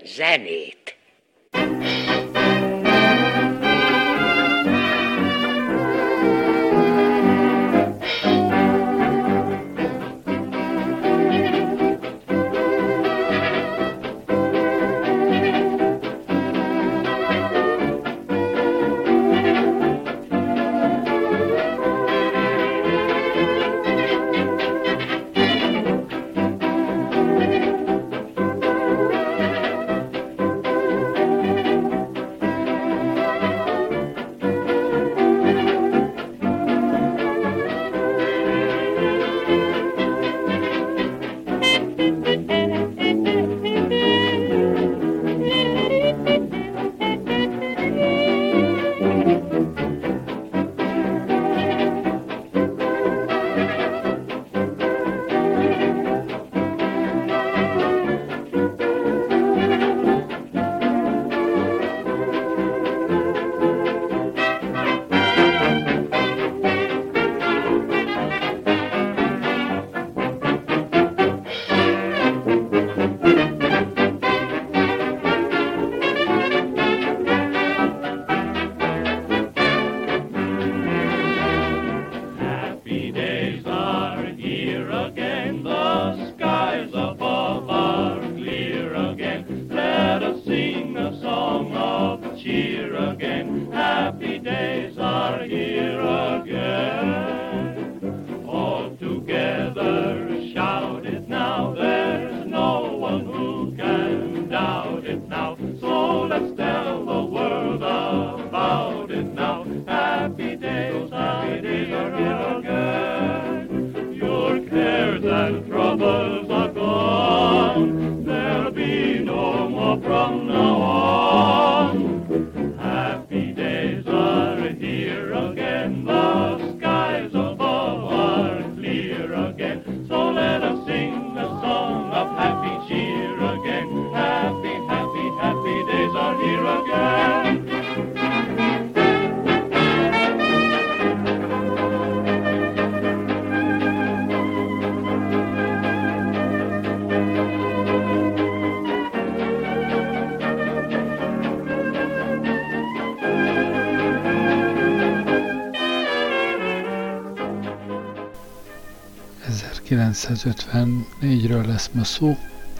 zenét. ...1954-ről lesz ma szó,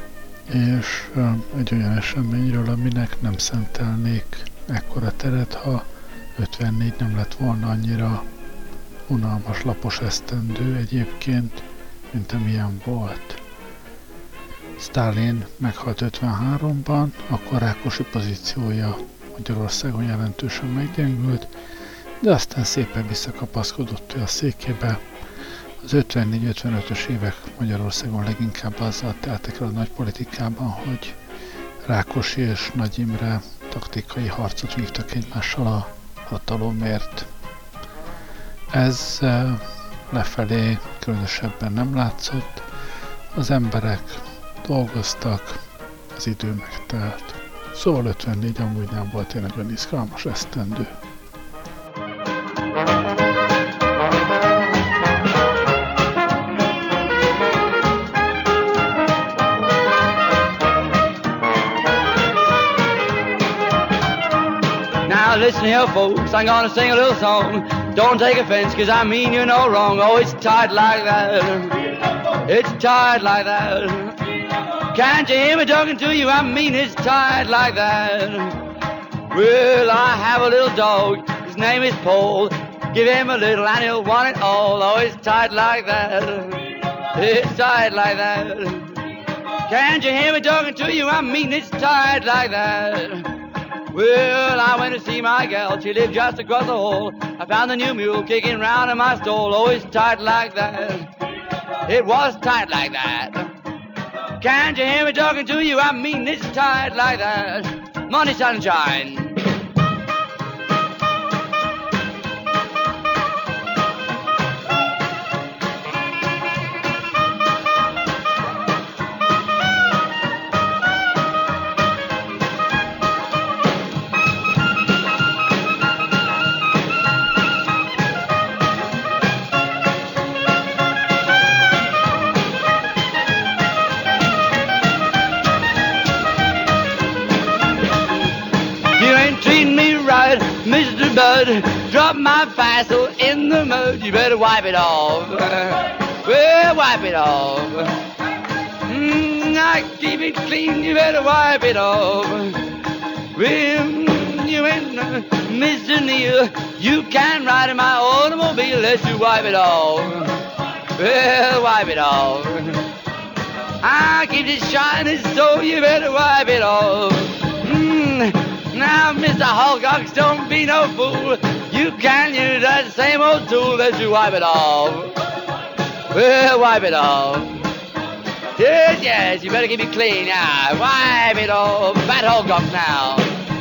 és egy olyan eseményről, aminek nem szentelnék ekkora teret, ha 54 nem lett volna annyira unalmas, lapos esztendő egyébként, mint amilyen volt. Sztálin meghalt 53-ban, akkor Rákosi pozíciója Magyarországon jelentősen meggyengült, de aztán szépen visszakapaszkodott a székébe. Az 54-55-ös évek Magyarországon leginkább azzal teltek el a nagypolitikában, hogy Rákosi és Nagy Imre taktikai harcot vívtak egymással a hatalomért. Ez lefelé különösebben nem látszott, az emberek dolgoztak, az idő megtelt. Szóval 54 amúgy nem volt egy nagyon izgalmas esztendő. Listen here, folks, I'm gonna sing a little song. Don't take offense, cause I mean you're no wrong. Oh, it's tight like that. It's tight like that. Can't you hear me talking to you? I mean it's tight like that. Well, I have a little dog. His name is Paul. Give him a little and he'll want it all. Oh, it's tight like that. It's tight like that. Can't you hear me talking to you? I mean it's tight like that. Well, I went to see my gal, she lived just across the hall. I found the new mule kicking round in my stall. Oh, it's tight like that. It was tight like that. Can't you hear me talking to you? I mean, it's tight like that. Money, sunshine. blood. Drop my fassel in the mud. You better wipe it off. Well, wipe it off. I keep it clean. You better wipe it off. Well, you ain't Mr. Neal. You can't ride in my automobile unless you wipe it off. Well, wipe it off. I keep it shining, so you better wipe it off. Now, Mr. Hulkox, don't be no fool. You can use that same old tool that you wipe it off. Well, wipe it off. Yes, yes, you better keep it clean. Yeah, wipe it off. Fat Hulkox now.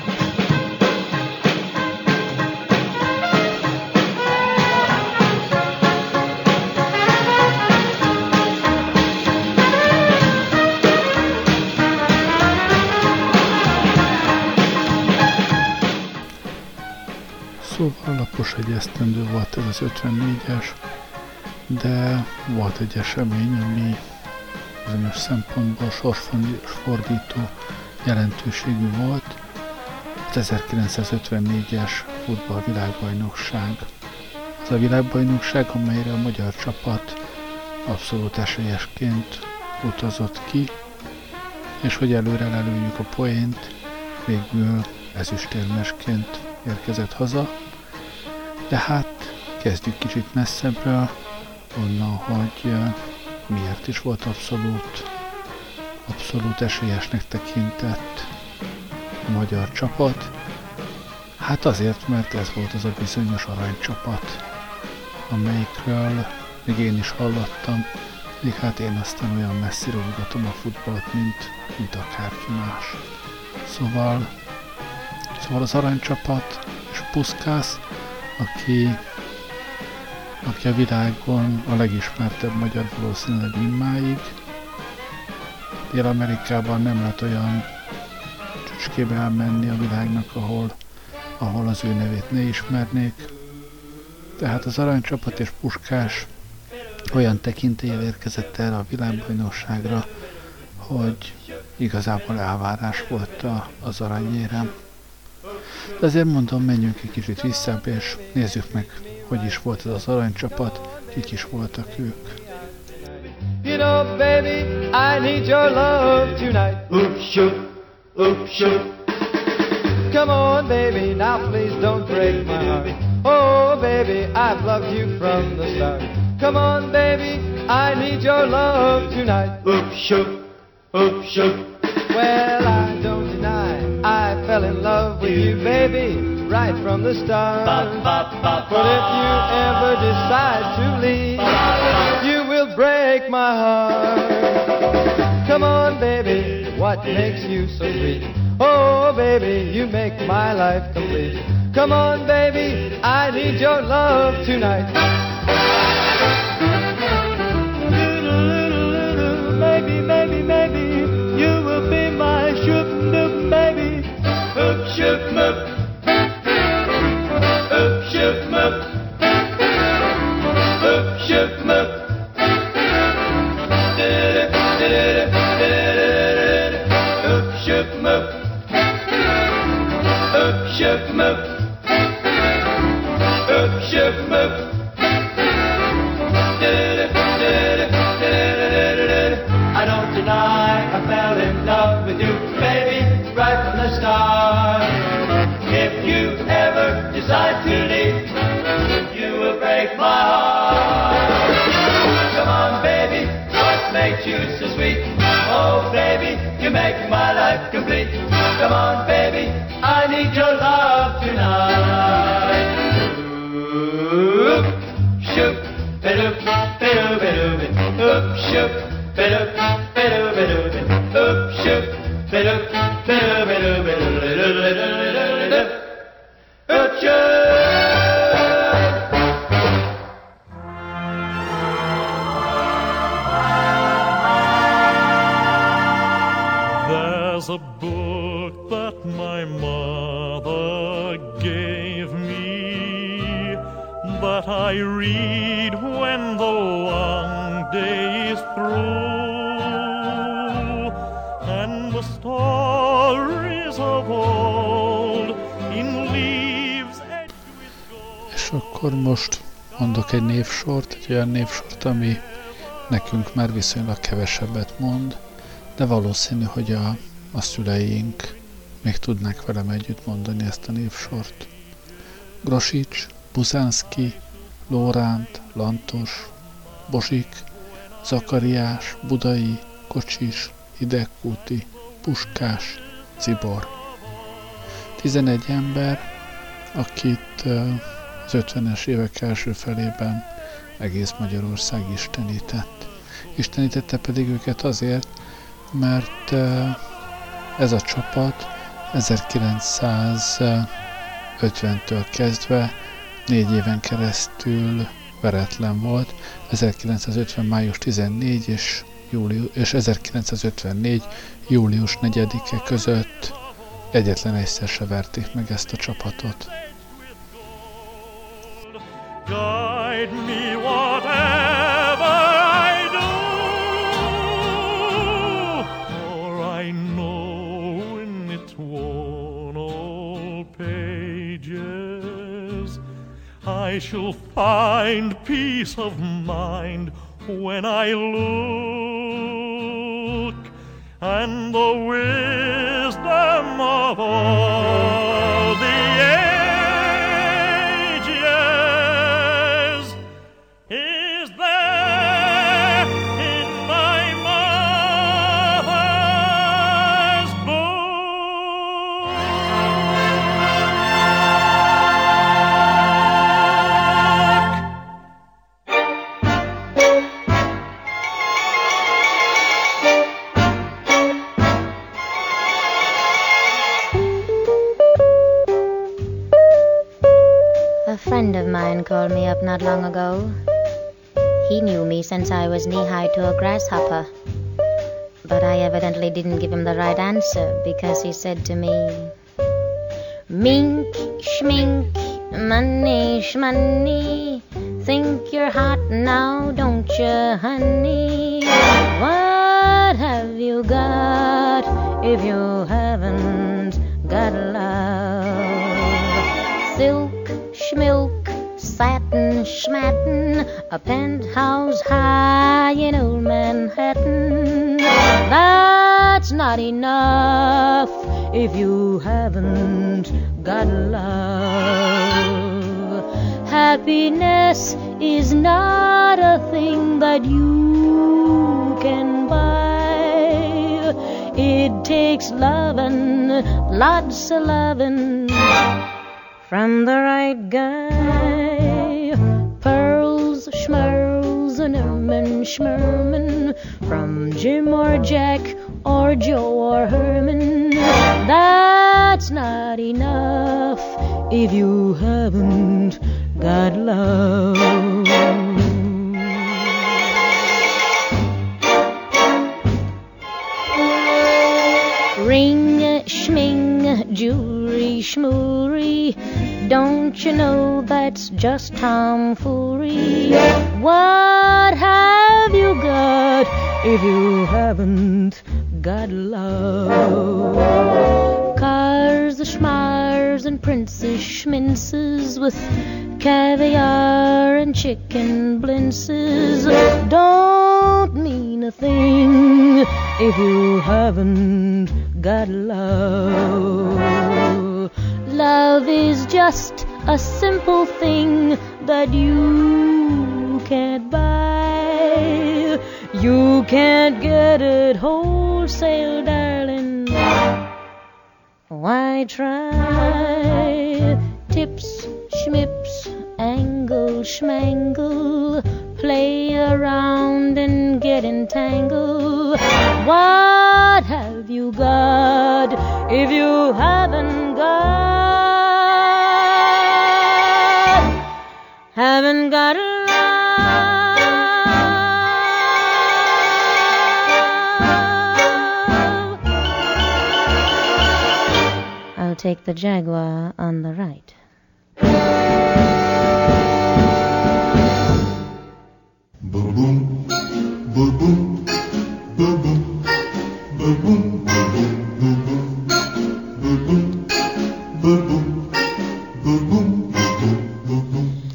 Szóval lapos egy esztendő volt ez az 54-es, de volt egy esemény, ami bizonyos szempontból sorsfordító jelentőségű volt. Az 1954-es futballvilágbajnokság. Az a világbajnokság, amelyre a magyar csapat abszolút esélyesként utazott ki, és hogy előre lelőjük a poént, végül ezüstérmesként érkezett haza. De hát kezdjük kicsit messzebbről, onnan, hogy miért is volt abszolút esélyesnek tekintett a magyar csapat. Hát azért, mert ez volt az a bizonyos aranycsapat, amelyikről még én is hallottam, még hát én aztán olyan messziről ugatom a futballt, mint akárki más. Szóval az aranycsapat és Puskás, aki a világon a legismertebb magyar valószínűleg mindmáig. Dél-Amerikában nem lehet olyan csücskébe elmenni a világnak, ahol az ő nevét ne ismernék. Tehát az aranycsapat és Puskás olyan tekintéllyel érkezett erre a világbajnokságra, hogy igazából elvárás volt az aranyérem. De azért mondom, menjünk egy kicsit visszább, és nézzük meg, hogy is volt ez az aranycsapat, kik is voltak ők. You know, baby, I need your love tonight. Oop, shoot, oop, shoot. Come on, baby, now please don't break my heart. Oh, baby, I've loved you from the start. Come on, baby, I need your love tonight. Oop, shoot, oop, shoot. Well, I don't deny I fell in love with you, baby, right from the start. But if you ever decide to leave, you will break my heart. Come on, baby, what makes you so sweet? Oh, baby, you make my life complete. Come on, baby, I need your love tonight. Maybe, you will be my shoop-doop, baby. Oop, shoop-moop. Oop, shoop-moop. Oop, shoop-moop. Oop, shoop-moop. Oop, shoop-moop. Oop, shoop-moop. I don't deny I fell in love with you, baby, right from the start. If you ever decide to leave, you will break my heart. Come on, baby, what makes you so sweet? Oh, baby, you make my life complete. Come on, baby, I need your love tonight. Oop, shoop, ba-doop, ba-doop, ba-doop, oop, shoop, ba-doop, ba-doop, ba-doop, oop, shoop, ba-doop, ba-doop, ba-doop, ba-doop, oop, shoop. There's a book that my mother gave me that I read when the long day is through, and the stories of old in leaves. akkor most mondok egy névsort, egy olyan névsort, ami nekünk már viszonylag kevesebbet mond, de valószínű, hogy a szüleink még tudnák velem együtt mondani ezt a névsort. Grosics, Buzánszky, Lóránt, Lantos, Bozsik, Zakariás, Budai, Kocsis, Hidegkúti, Puskás, Cibor. 11 ember, akit az 50-es évek első felében egész Magyarország istenített. Istenítette pedig őket azért, mert ez a csapat 1950-től kezdve 4 éven keresztül veretlen volt. 1950. május 14 és 1954. július 4-e között egyetlen egyszer se verték meg ezt a csapatot. Guide me whatever I do, for I know in its worn old pages I shall find peace of mind when I look, and the wisdom of all the ages is there in my mother's book. A friend of mine called me up not long ago. He knew me since I was knee-high to a grasshopper. But I evidently didn't give him the right answer, because he said to me, Mink, schmink, money, shmoney, think you're hot now, don't you, honey? What have you got if you haven't got love? Silk, schmilk, satin, schmatin, a penthouse high in old Manhattan. That's not enough if you haven't got love. Happiness is not a thing that you can buy. It takes lovin', lots of lovin', from the right guy. Pearls, schmerls, and ermine, schmerman, from Jim or Jack or Joe or Herman. That's not enough if you haven't got love. Ring, schming, jewelry, schmoory, don't you know that's just tomfoolery? What have you got if you haven't got love? Cars, schmars, and princes, schminces with caviar and chicken blintzes don't mean a thing if you haven't got love. Love is just a simple thing that you can't buy. You can't get it wholesale, darling. Why try? Tips, schmips, angle, schmangle, play around and get entangled. What have you got if you haven't got love? I'll take the Jaguar on the right. Boom boom, boom boom, boom boom, boom boom, boom boom, boom boom, boom boom, boom boom, boom boom, boom boom.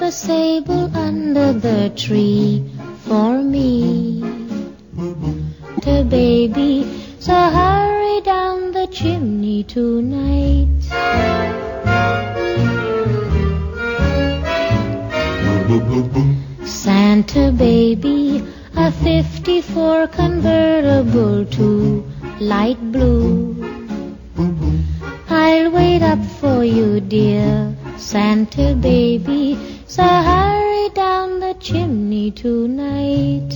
a sable under the tree for me. The baby, so hurry down the chimney tonight. Santa baby, a 54 convertible to light blue. I'll wait up for you, dear Santa baby, so hurry down the chimney tonight.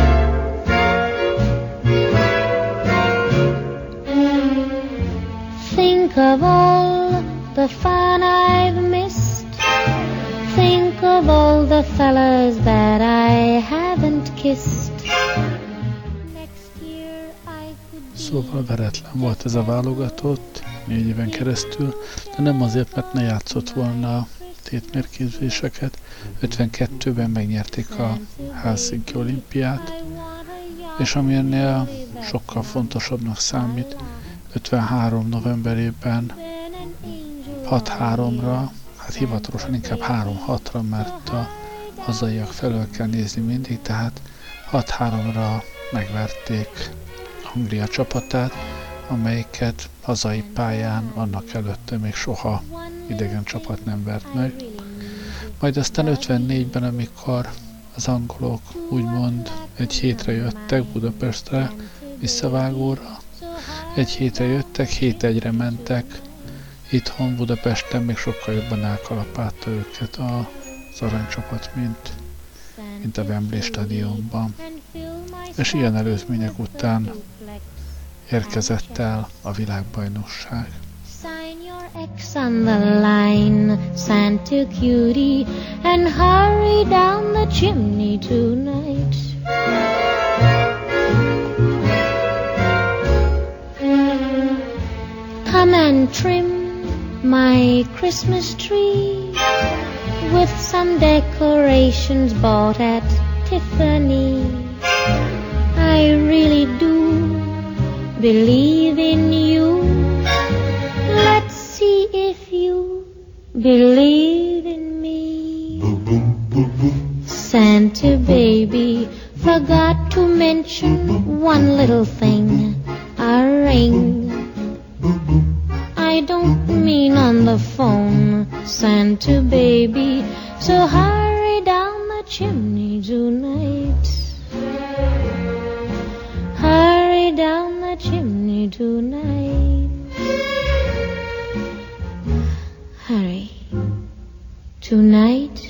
Think of all the fun I've missed. Think of all the fellas that I haven't kissed. Next year I could be... Szóval veretlen volt ez a válogatott 4 éven keresztül, de nem azért, mert ne játszott volna a tétmérkőzéseket. 52-ben megnyerték a Helsinki olimpiát, és ami ennél sokkal fontosabbnak számít, 53 novemberében 6-3-ra, hát hivatalosan inkább 3-6-ra, mert a hazaiak felől kell nézni mindig, tehát 6-3-ra megverték Anglia csapatát, amelyiket hazai pályán annak előtte még soha idegen csapat nem vert meg. Majd aztán 54-ben, amikor az angolok úgymond egy hétre jöttek Budapestre visszavágóra, egy hétre jöttek, 7-1-re mentek, itthon Budapesten még sokkal jobban elkalapálta őket az aranycsapat, mint a Wembley stadionban. És ilyen előzmények után érkezett el a világbajnokság. Sign your X on the line, Santa cutie, and hurry down the chimney tonight. Come and trim my Christmas tree with some decorations bought at Tiffany. I really do believe in you. Let's see if you believe in me. Santa baby forgot to mention one little thing, a ring. I don't mean on the phone, Santa baby, so hurry down the chimney tonight. Hurry down the chimney tonight. Hurry. Tonight.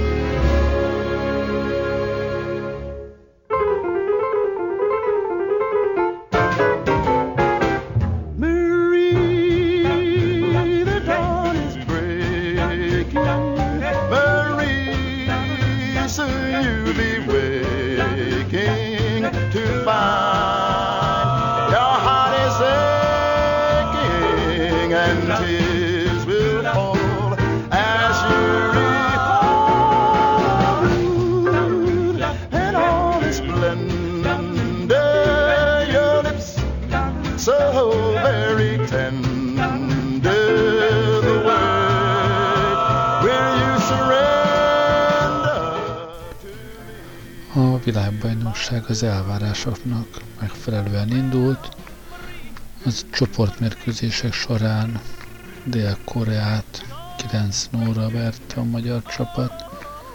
A világbajnokság az elvárásoknak megfelelően indult. Az csoportmérkőzések során Dél-Koreát 9-0-ra verte a magyar csapat,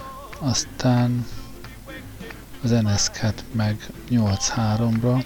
aztán az NSK-t meg 8-3-ra,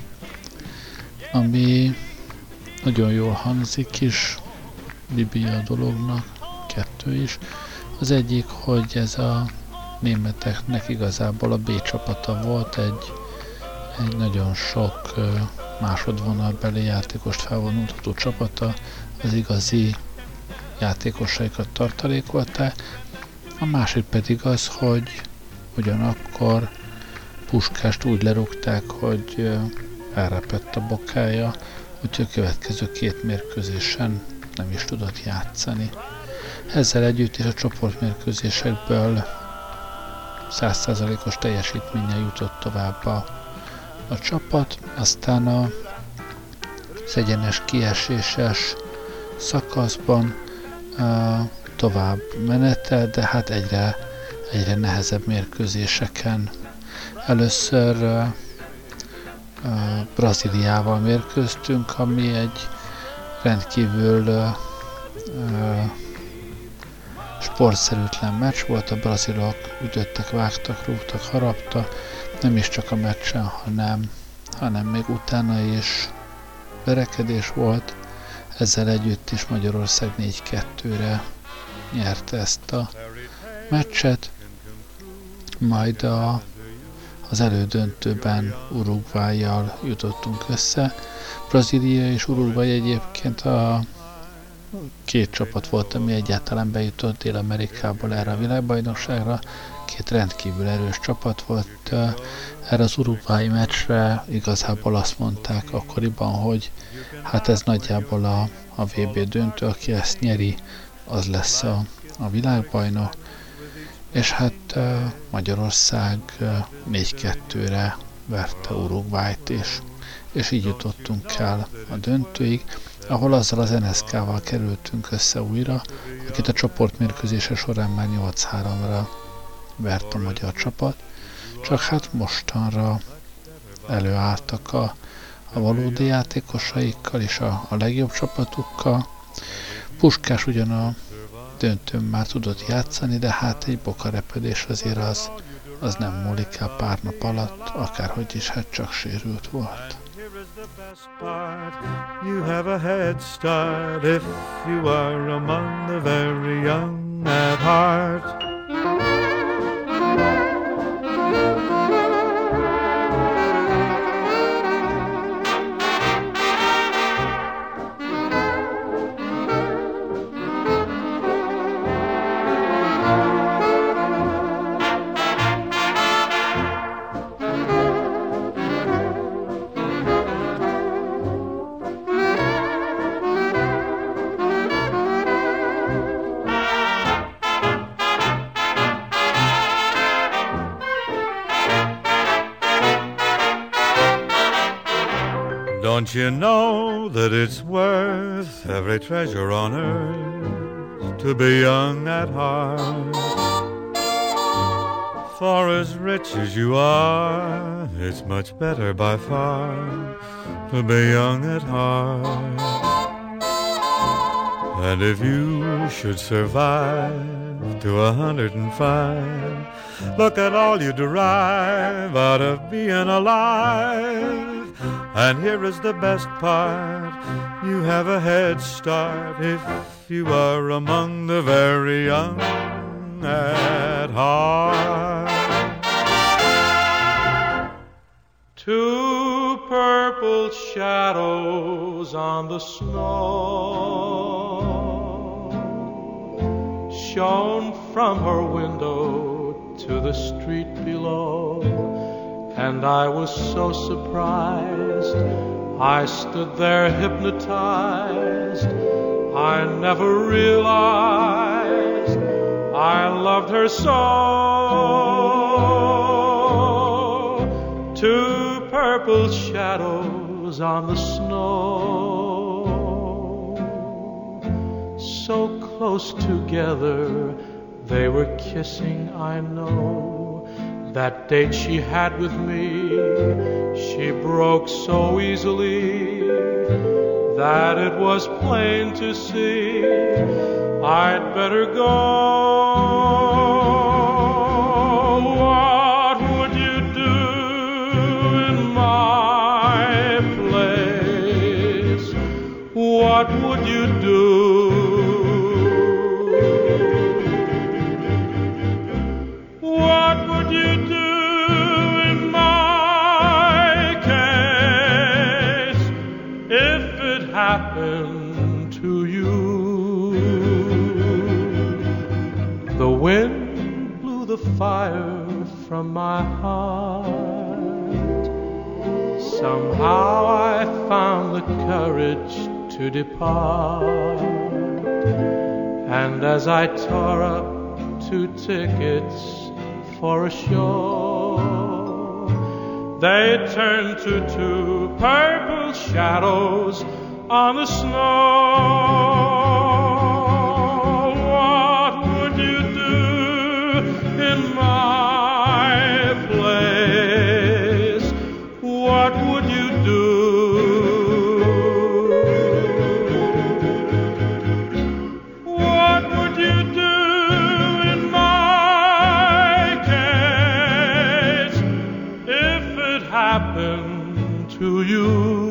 ami nagyon jól hangzik is, Libia dolognak, 2 is. Az egyik, hogy ez a németeknek igazából a B csapata volt, egy nagyon sok másodvonalbeli játékost felvonultató csapata, az igazi játékosaikat tartalékolták. A másik pedig az, hogy ugyanakkor Puskást úgy lerúgták, hogy elrepett a bokája, úgyhogy a következő 2 mérkőzésen nem is tudott játszani. Ezzel együtt is a csoportmérkőzésekből 100%-os teljesítménnyel jutott tovább a csapat, aztán az egyenes kieséses szakaszban tovább menetelt, de hát egyre egyre nehezebb mérkőzéseken. Először Brazíliával mérkőztünk, ami egy rendkívül sportszerűtlen meccs volt. A brazilok ütöttek, vágtak, rúgtak, haraptak, nem is csak a meccsen, hanem még utána is verekedés volt. Ezzel együtt is Magyarország 4-2-re nyerte ezt a meccset, majd az elődöntőben Uruguayjal jutottunk össze. Brazília és Uruguay egyébként a két csapat volt, ami egyáltalán bejutott Dél-Amerikából erre a világbajnokságra. Két rendkívül erős csapat volt. Erre az uruguayi meccsre igazából azt mondták akkoriban, hogy hát ez nagyjából a VB döntő, aki ezt nyeri, az lesz a világbajnok. És hát Magyarország 4-2-re verte Uruguayt, és így jutottunk el a döntőig, ahol azzal az NSK-val kerültünk össze újra, akit a csoportmérkőzése során már 8-3-ra vert a magyar csapat, csak hát mostanra előálltak a valódi játékosaikkal és a legjobb csapatukkal. Puskás ugyan a döntőn már tudott játszani, de hát egy bokarepedés azért az nem múlik el pár nap alatt, akárhogy is, hát csak sérült volt. You have a head start if you are among the very young at heart. Don't you know that it's worth every treasure on earth to be young at heart? For as rich as you are, it's much better by far to be young at heart. And if you should survive to 105, look at all you derive out of being alive. And here is the best part, you have a head start if you are among the very young at heart. Two purple shadows on the snow shone from her window to the street below. And I was so surprised, I stood there hypnotized. I never realized I loved her so. Two purple shadows on the snow, so close together, they were kissing, I know. That date she had with me, she broke so easily that it was plain to see I'd better go. What would you do in my place? What would you do? Happen to you. The wind blew the fire from my heart. Somehow I found the courage to depart. And as I tore up 2 tickets for a show, they turned to 2 purple shadows on the snow. What would you do in you.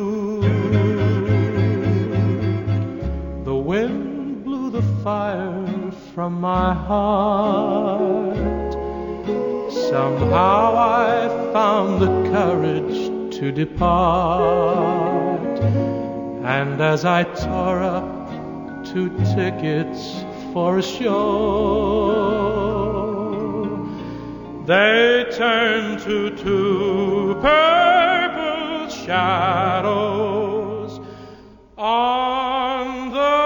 The wind blew the fire from my heart. Somehow I found the courage to depart. And as I tore up 2 tickets for a show, they turned to 2 purple shadows on the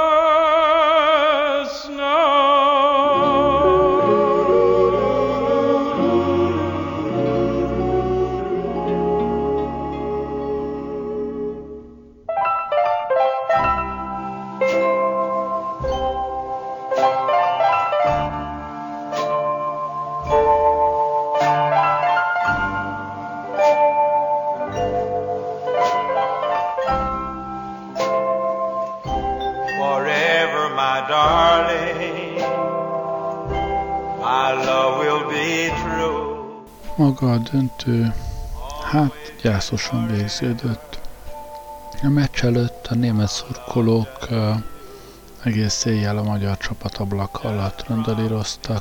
Maga a döntő, hát gyászosan végződött. A meccs előtt a német szurkolók egész éjjel a magyar csapat ablaka alatt randalíroztak.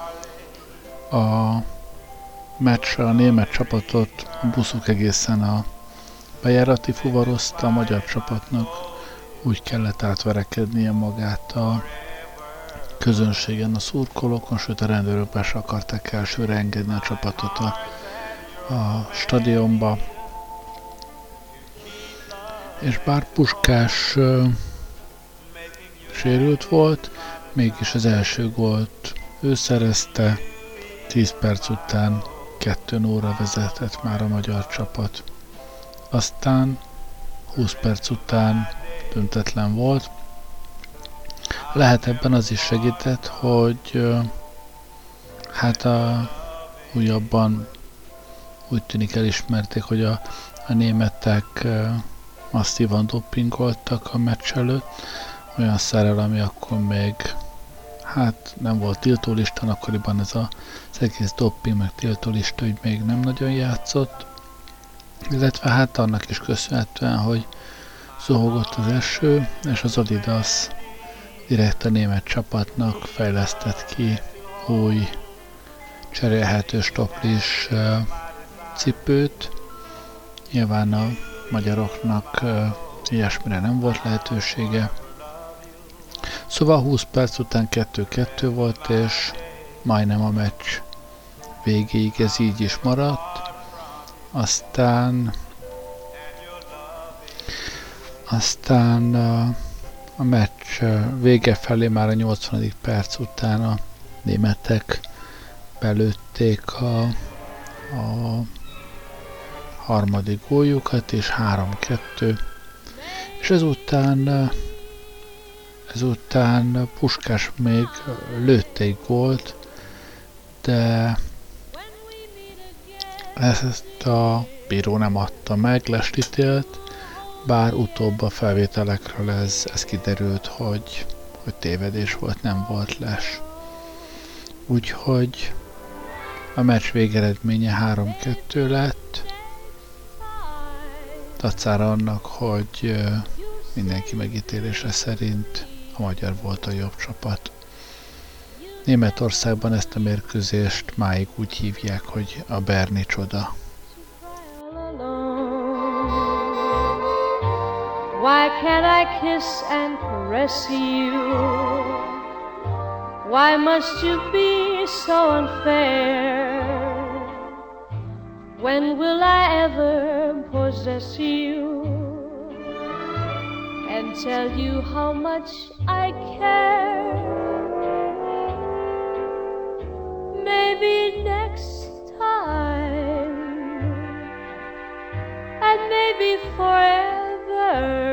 A meccsre a német csapatot a buszok egészen a bejárati fuvarozta, a magyar csapatnak úgy kellett átverekednie magát a közönségen, a szurkolókon, sőt a rendőrök be se akarták elsőre engedni a csapatot a stadionba. És bár Puskás sérült volt, mégis az első gólt ő szerezte, 10 perc után 2-0-ra vezetett már a magyar csapat. Aztán 20 perc után döntetlen volt. Lehet ebben az is segített, hogy hát újabban úgy tűnik elismerték, hogy a németek masszívan dopingoltak a meccs előtt, olyan szerrel, ami akkor még hát nem volt tiltólistán, akkoriban ez az egész doping meg tiltólista úgy még nem nagyon játszott, illetve hát annak is köszönhetően, hogy zuhogott az eső, és az Adidas direkt a német csapatnak fejlesztett ki új cserélhető stoplis cipőt. Nyilván a magyaroknak ilyesmire nem volt lehetősége. Szóval 20 perc után 2-2 volt, és majdnem a meccs végéig ez így is maradt. Aztán a meccs vége felé már a 80. perc után a németek belőtték a harmadik góljukat, és 3-2. És ezután Puskás még lőtt egy gólt, de ezt a bíró nem adta meg, lestítélt, bár utóbb a felvételekről ez kiderült, hogy tévedés volt, nem volt les. Úgyhogy a meccs végeredménye 3-2 lett, dacára annak, hogy mindenki megítélése szerint a magyar volt a jobb csapat. Németországban ezt a mérkőzést máig úgy hívják, hogy a Berni csoda. Why can't I kiss and caress you? Why must you be so unfair? When will I ever possess you and tell you how much I care? Maybe next time, and maybe forever.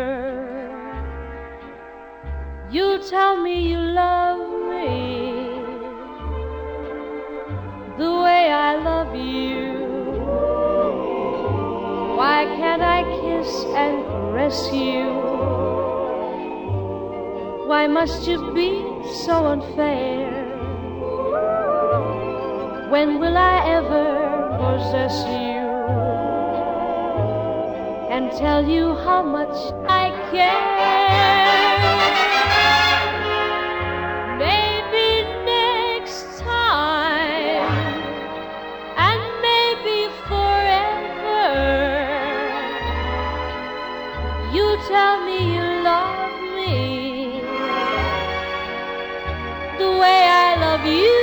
You tell me you love me the way I love you. Why can't I kiss and caress you? Why must you be so unfair? When will I ever possess you and tell you how much I care. Maybe next time, and maybe forever, you tell me you love me the way I love you.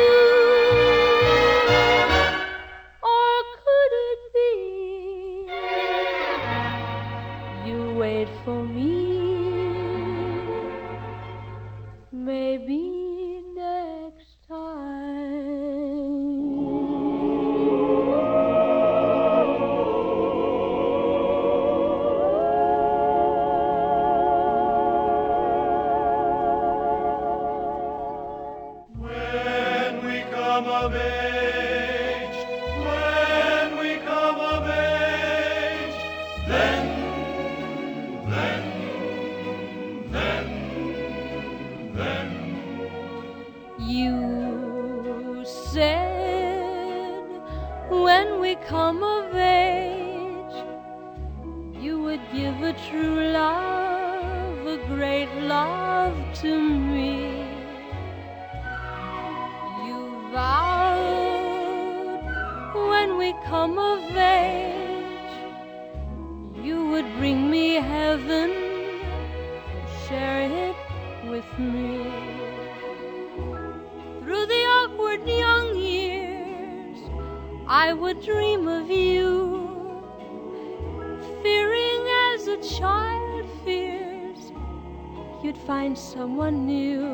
Or could it be you wait for me? Maybe next time. When we come of age, when we come of age, then You said when we come of age, you would give a true love, a great love to me. You vowed when we come of age, you would bring me heaven, share it with me. Through the awkward young years, I would dream of you, fearing as a child fears you'd find someone new.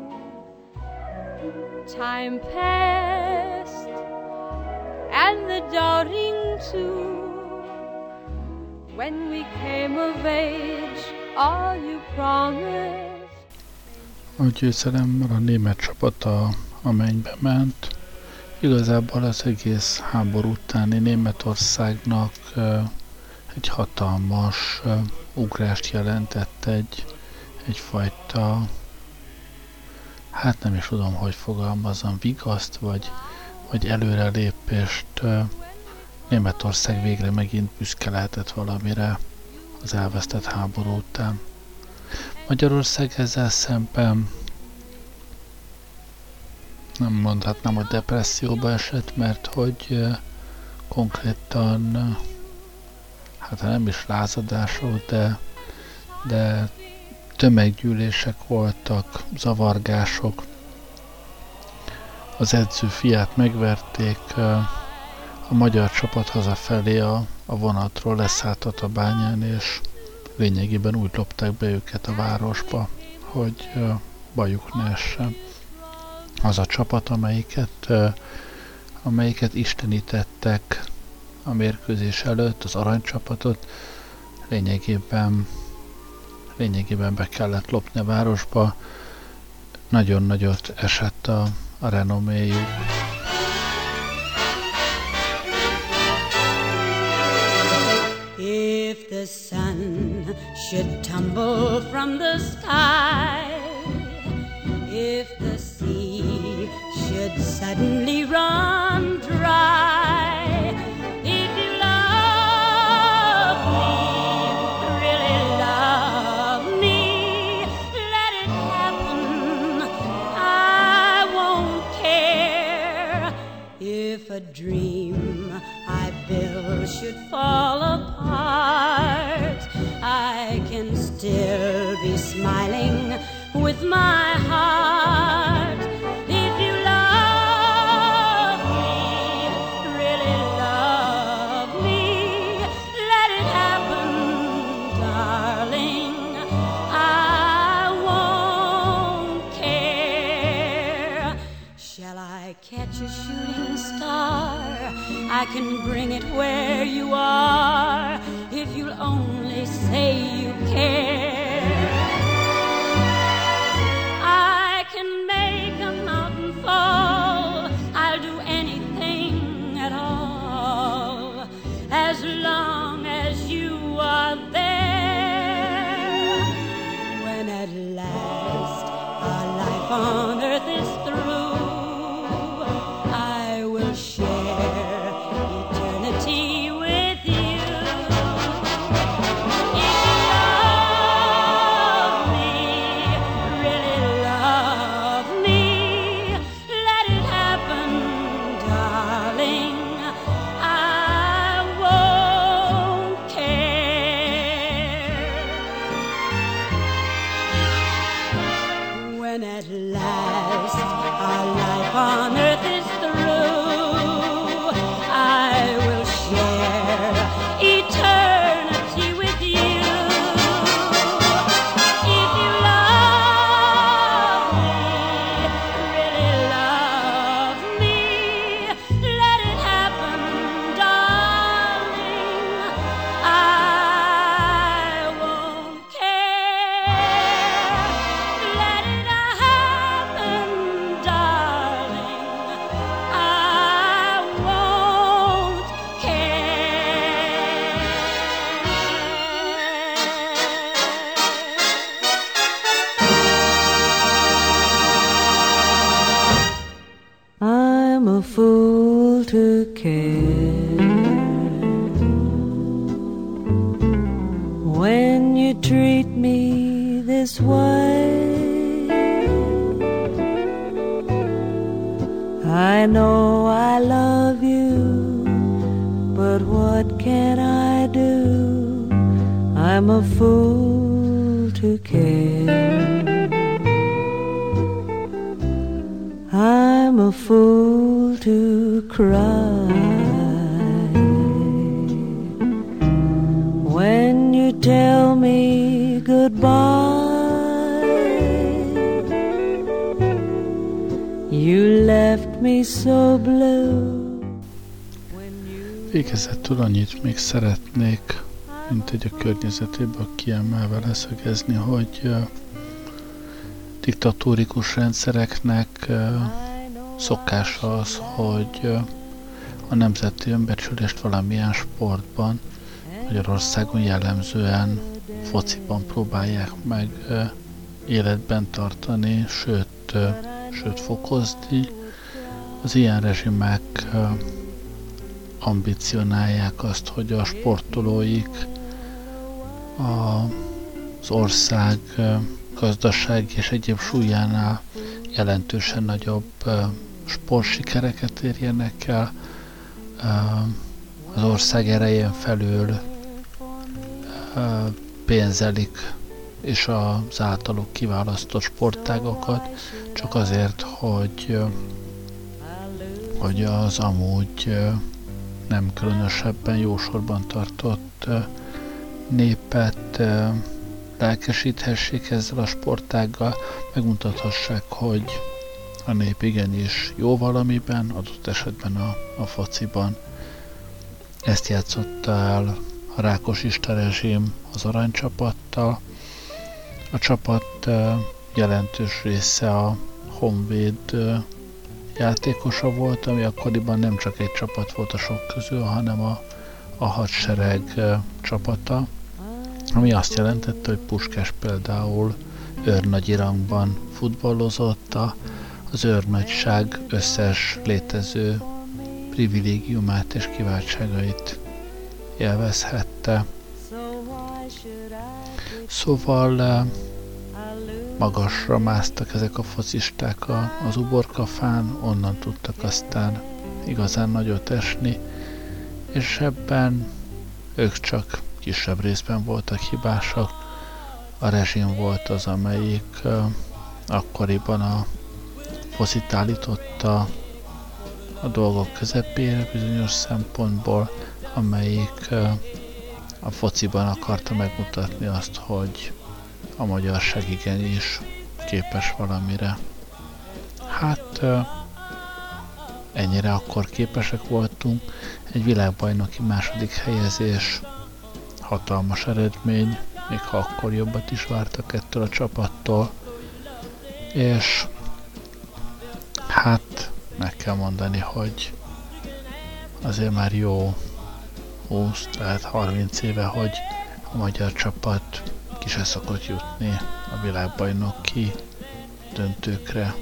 Time passed, and the doubting too. When we came of age, all you promised. A győzelem a német csapata a mennybe ment. Igazából az egész háború utáni Németországnak egy hatalmas ugrást jelentett, egyfajta, hát nem is tudom, hogy fogalmazom, vigaszt vagy előrelépést. Németország végre megint büszke lehetett valamire az elvesztett háború után. Magyarország ezzel szemben nem mondhatnám, hogy depresszióba esett, mert hogy konkrétan, hát nem is lázadások, de tömeggyűlések voltak, zavargások. Az edző fiát megverték, a magyar csapat hazafelé a vonatról leszállt a Tatabányán, és lényegében úgy lopták be őket a városba, hogy bajuk ne essen. Az a csapat, amelyiket istenítettek a mérkőzés előtt, az aranycsapatot, lényegében be kellett lopni a városba. Nagyon nagyot esett a renoméjuk. If the sun should tumble from the sky, if the sea should suddenly run dry, if you love me, really love me, let it happen, I won't care. If a dream I build should fall apart, I can still be smiling with my heart. If you love me, really love me, let it happen, darling, I won't care. Shall I catch a shooting star? I can bring it where you are, if you'll only say you care. I can make a mountain fall, I'll do anything at all, as long as you are there. When at last our life on earth is through, I will share eternity with you. when you treat me this way. I know I love you, but what can I do? I'm a fool to care. I'm a fool to cry when you tell me goodbye. You left me so blue. Végezetül annyit még szeretnék, mint egy a környezetéből kiemelve leszögezni, hogy diktatórikus rendszereknek szokása az, hogy a nemzeti önbecsülést valamilyen sportban, Magyarországon jellemzően fociban próbálják meg életben tartani, sőt fokozni. Az ilyen rezsimek ambicionálják azt, hogy a sportolóik az ország gazdaság és egyéb súlyánál jelentősen nagyobb sportsikereket érjenek el, az ország erején felül pénzelik és az általuk kiválasztott sportágokat, csak azért, hogy az amúgy nem különösebben jó sorban tartott népet lelkesíthessék ezzel a sportággal, megmutathassák, hogy a nép igenis jó valamiben, adott esetben a fociban. Ezt játszotta el a rákosista rezsim az aranycsapattal. A csapat jelentős része a Honvéd játékosa volt, ami akkoriban nem csak egy csapat volt a sok közül, hanem a hadsereg csapata, ami azt jelentette, hogy Puskás például őrnagyi rangban futballozott, az őrnagyság összes létező privilégiumát és kiváltságait élvezhette. Szóval magasra másztak ezek a focisták az uborkafán, onnan tudtak aztán igazán nagyot esni, és ebben ők csak kisebb részben voltak hibásak. A rezsim volt az, amelyik akkoriban a focit állította a dolgok közepére bizonyos szempontból, amelyik a fociban akarta megmutatni azt, hogy a magyarság igenis képes valamire. Hát ennyire akkor képesek voltunk. Egy világbajnoki második helyezés, hatalmas eredmény, még ha akkor jobbat is vártak ettől a csapattól, és hát meg kell mondani, hogy azért már jó 20, tehát 30 éve, hogy a magyar csapat ki se szokott jutni a világbajnoki döntőkre.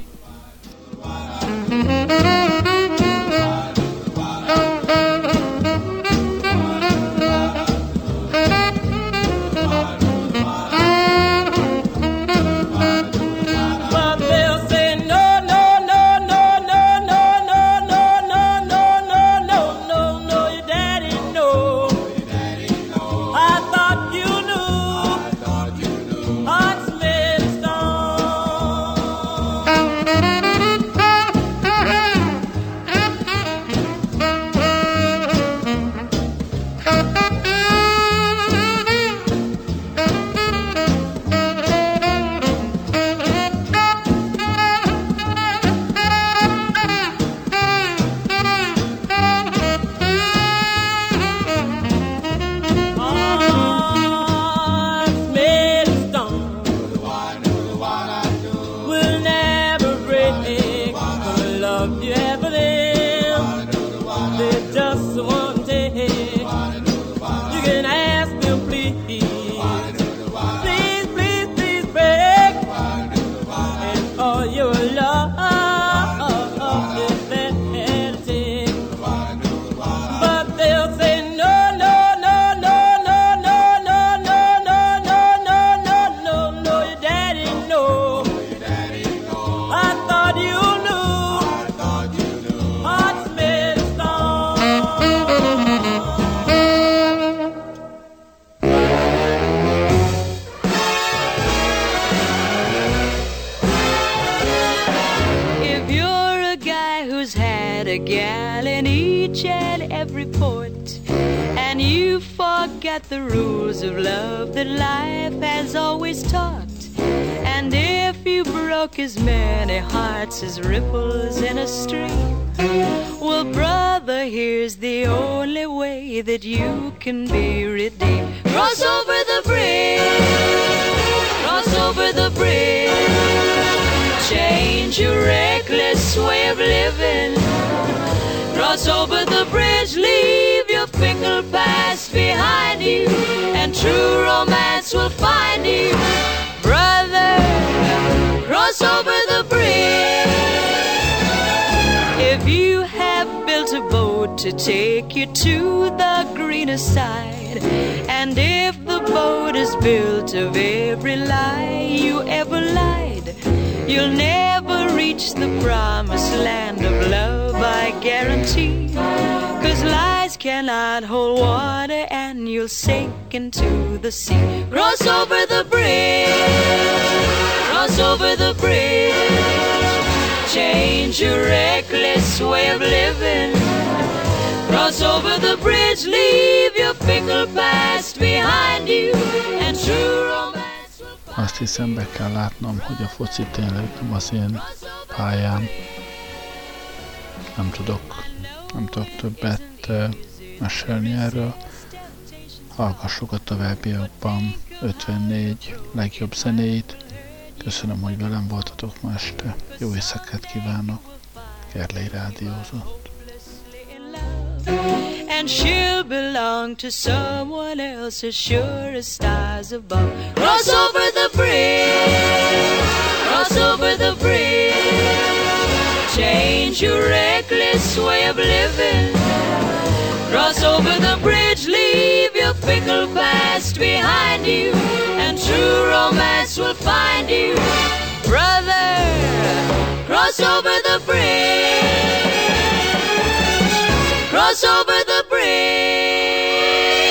each and every port, and you forget the rules of love that life has always taught. And if you broke as many hearts as ripples in a stream, well, brother, here's the only way that you can be redeemed. Cross over the bridge, cross over the bridge, change your reckless way of living. Cross over the bridge, leave your fickle past behind you, and true romance will find you. Brother, cross over the bridge. If you have built a boat to take you to the greener side, and if the boat is built of every lie you ever lied, you'll never reach the promised land of love, I guarantee. 'Cause lies cannot hold water and you'll sink into the sea. Cross over the bridge, cross over the bridge, change your reckless way of living. Cross over the bridge, leave your fickle past behind you, and true romance will find. Azt hiszem, be kell látnom, hogy a foci tényleg nem az én pályám. Nem tudok többet mesélni erről. Hallgassuk a továbbiakban 54 legjobb zenéit. Köszönöm, hogy velem voltatok ma este. Jó éjszakát kívánok. Gerlei rádiózott. And she'll belong to someone else as sure as stars above. Cross over the bridge, cross over the bridge, change your reckless way of living. Cross over the bridge, leave your fickle past behind you, and true romance will find you. Brother, cross over the bridge, cross over the bridge.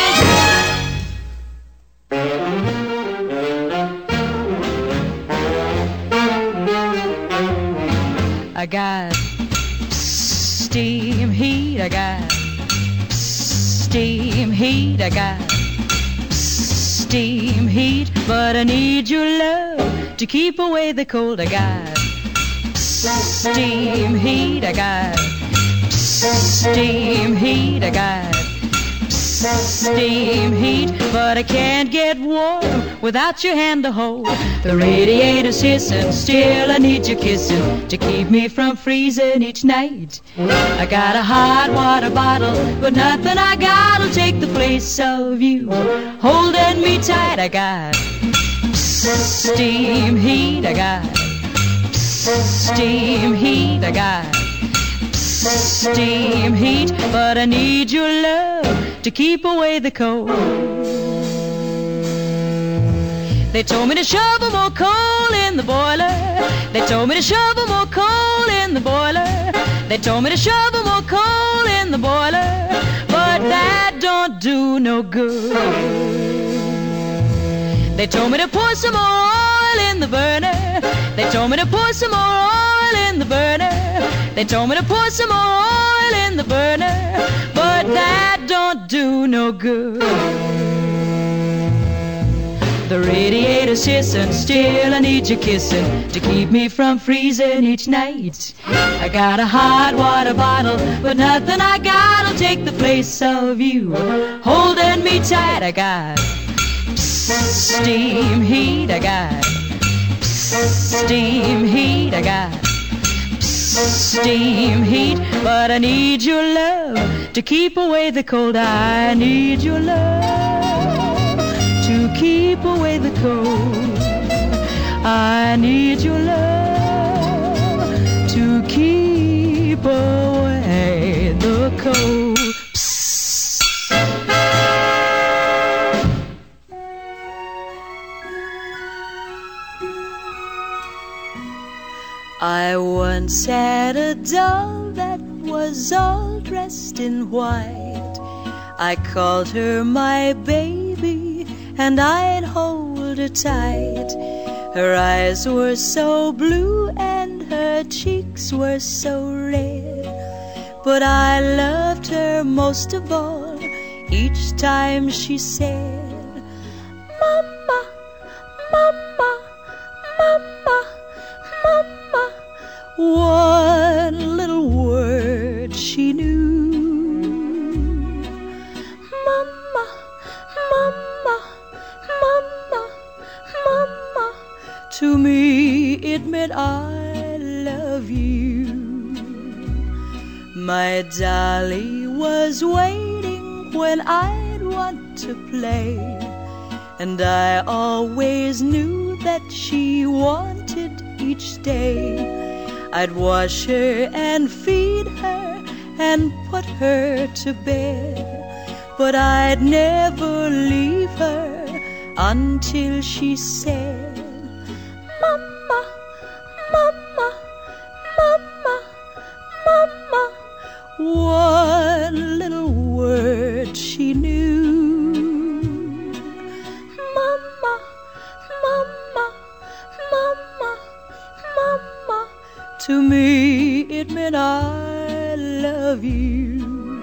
I got steam heat, I got steam heat, I got steam heat, but I need your love to keep away the cold. I got steam heat, I got steam heat, I got steam heat, but I can't get warm without your hand to hold. The radiator's hissing, still I need your kissing to keep me from freezing each night. I got a hot water bottle, but nothing I got'll take the place of you holding me tight. I got steam heat, I got steam heat, I got steam heat, but I need your love to keep away the cold. They told me to shovel more coal in the boiler. They told me to shovel more coal in the boiler. They told me to shovel more coal in the boiler, but that don't do no good. They told me to pour some more oil in the burner. They told me to pour some more oil in the burner. They told me to pour some more oil in the burner, but that don't do no good. The radiator's hissing, still I need your kissing to keep me from freezing each night. I got a hot water bottle, but nothing I got'll take the place of you holding me tight. I got steam heat, I got steam heat, I got steam heat, but I need your love to keep away the cold. I need your love to keep away the cold. I need your love to keep away the cold. I once had a doll that was all dressed in white. I called her my baby, and I'd hold her tight. Her eyes were so blue and her cheeks were so red. but I loved her most of all each time she said, Mama, Mama, Mama, Mama. One little word she knew. Mama, Mama, Mama, Mama. To me it meant I love you. My dolly was waiting when I'd want to play, and I always knew that she wanted each day. I'd wash her and feed her and put her to bed, but I'd never leave her until she said, Mama, Mama, Mama, Mama. One little word she knew. Mama, Mama, Mama, Mama. To me it meant I love you.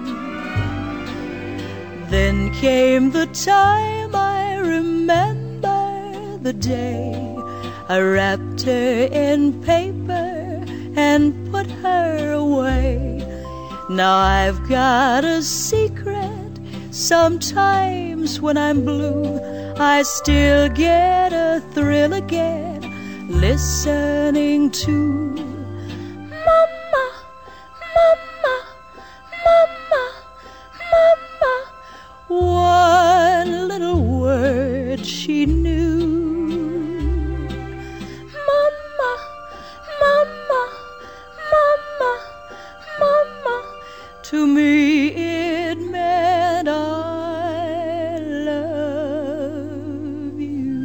Then came the time, I remember the day I wrapped her in paper and put her away. Now I've got a secret. Sometimes when I'm blue, I still get a thrill again listening to Mama, Mama, Mama, Mama. One little word she knew. Mama, Mama, Mama, Mama. To me it meant I love you.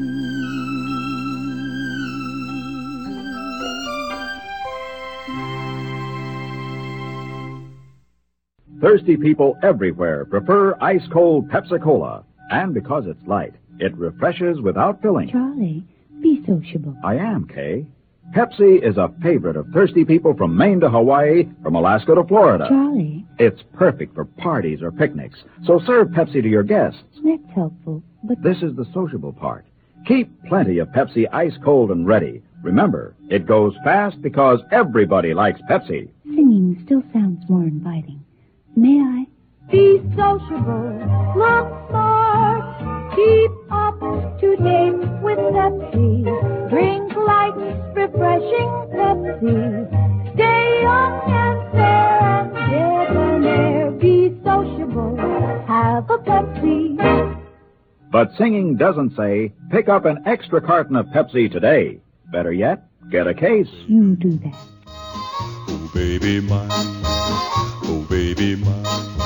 Thirsty people everywhere prefer ice-cold Pepsi-Cola. And because it's light, it refreshes without filling. Charlie, be sociable. I am, Kay. Pepsi is a favorite of thirsty people from Maine to Hawaii, from Alaska to Florida. Charlie. It's perfect for parties or picnics, so serve Pepsi to your guests. That's helpful, but... This is the sociable part. Keep plenty of Pepsi ice cold and ready. Remember, it goes fast because everybody likes Pepsi. Singing still sounds more inviting. May I? Be sociable, look smart, keep up to date with Pepsi. Drink light, refreshing Pepsi. Stay young and fair and debonair. Be sociable, have a Pepsi. But singing doesn't say, pick up an extra carton of Pepsi today. Better yet, get a case. You do that. Oh, baby mine. Oh, baby mine.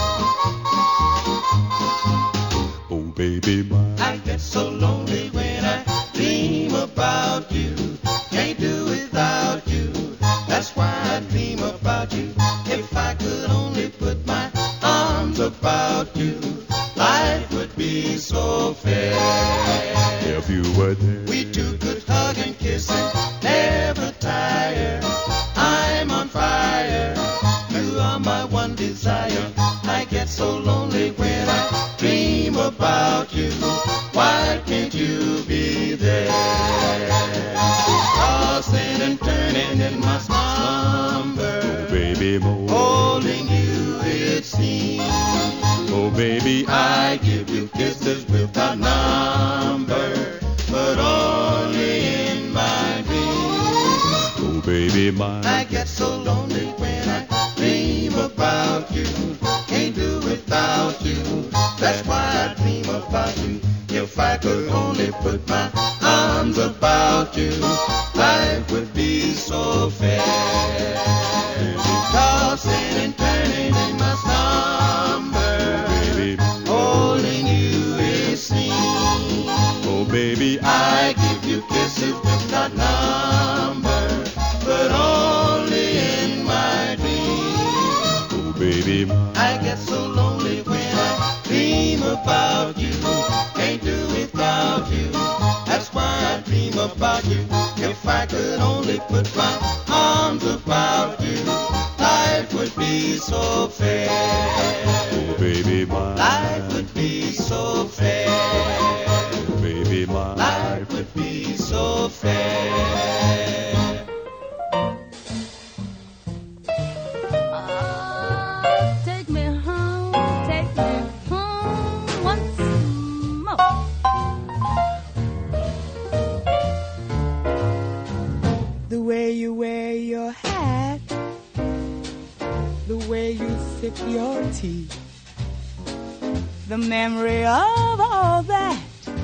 Oh, baby mine. I get so lonely when I dream about you. Can't do without you. That's why I dream about you. If I could only put my arms about you, life would be so fair. If you were there, we two could hug and kiss and never tire. I'm on fire. You are my one desire. I get so lonely when I dream about you. Why can't you be there? Tossing and turning in my slumber. Oh, baby, more. Holding you, it seems. Oh, baby, I give you kisses without number, but only in my dreams. Oh, baby, mine. I get so lonely when I dream about you. Can't do without you. That's why I dream about you. If I could only put my arms about you, life would be so fair. Tossing and turning in my slumber, baby, holding you it seems. Oh, baby, I give you kisses without number, but only in my dreams. Oh, baby, mine. I get so lonely when I dream about you. Can't do without you. That's why I dream about you. If I could only put my arms about you, life would be so sip your tea. The memory of all that.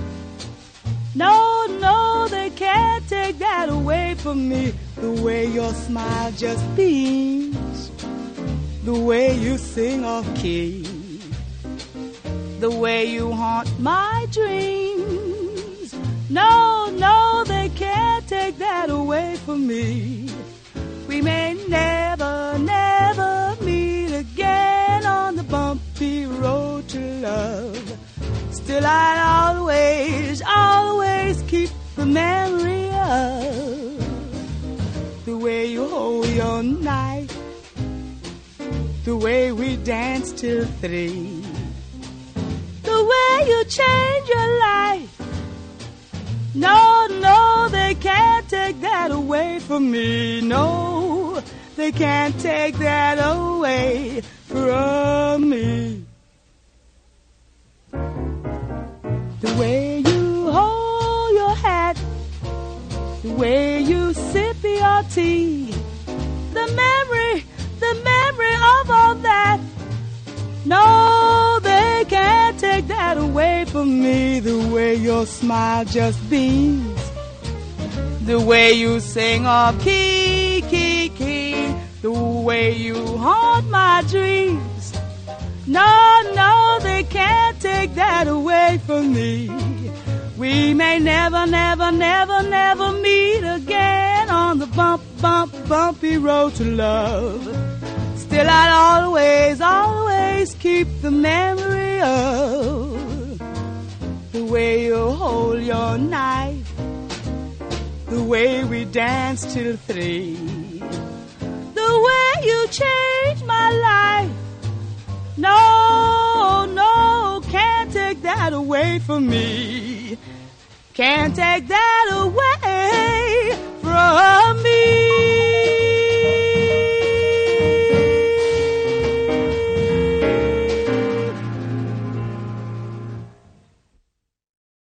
No, no, they can't take that away from me. The way your smile just beams, the way you sing off key, the way you haunt my dreams. No, no, they can't take that away from me. We may never, never meet again on the bumpy road to love. Still I'd always, always keep the memory of the way you hold your knife, the way we danced till 3, the way you changed your life. No, no, they can't take that away from me. No, they can't take that away from me. The way you hold your hat, the way you sip your tea, the memory of all that. No, they can't take that away from me. The way your smile just beams, the way you sing off key, key, key, the way you haunt my dreams. No, no, they can't take that away from me. We may never, never, never, never meet again on the bumpy road to love. Still I'd always, always keep the memory of the way you hold your knife, the way we danced till 3, the way you changed my life. No, no, can't take that away from me. Can't take that away from me.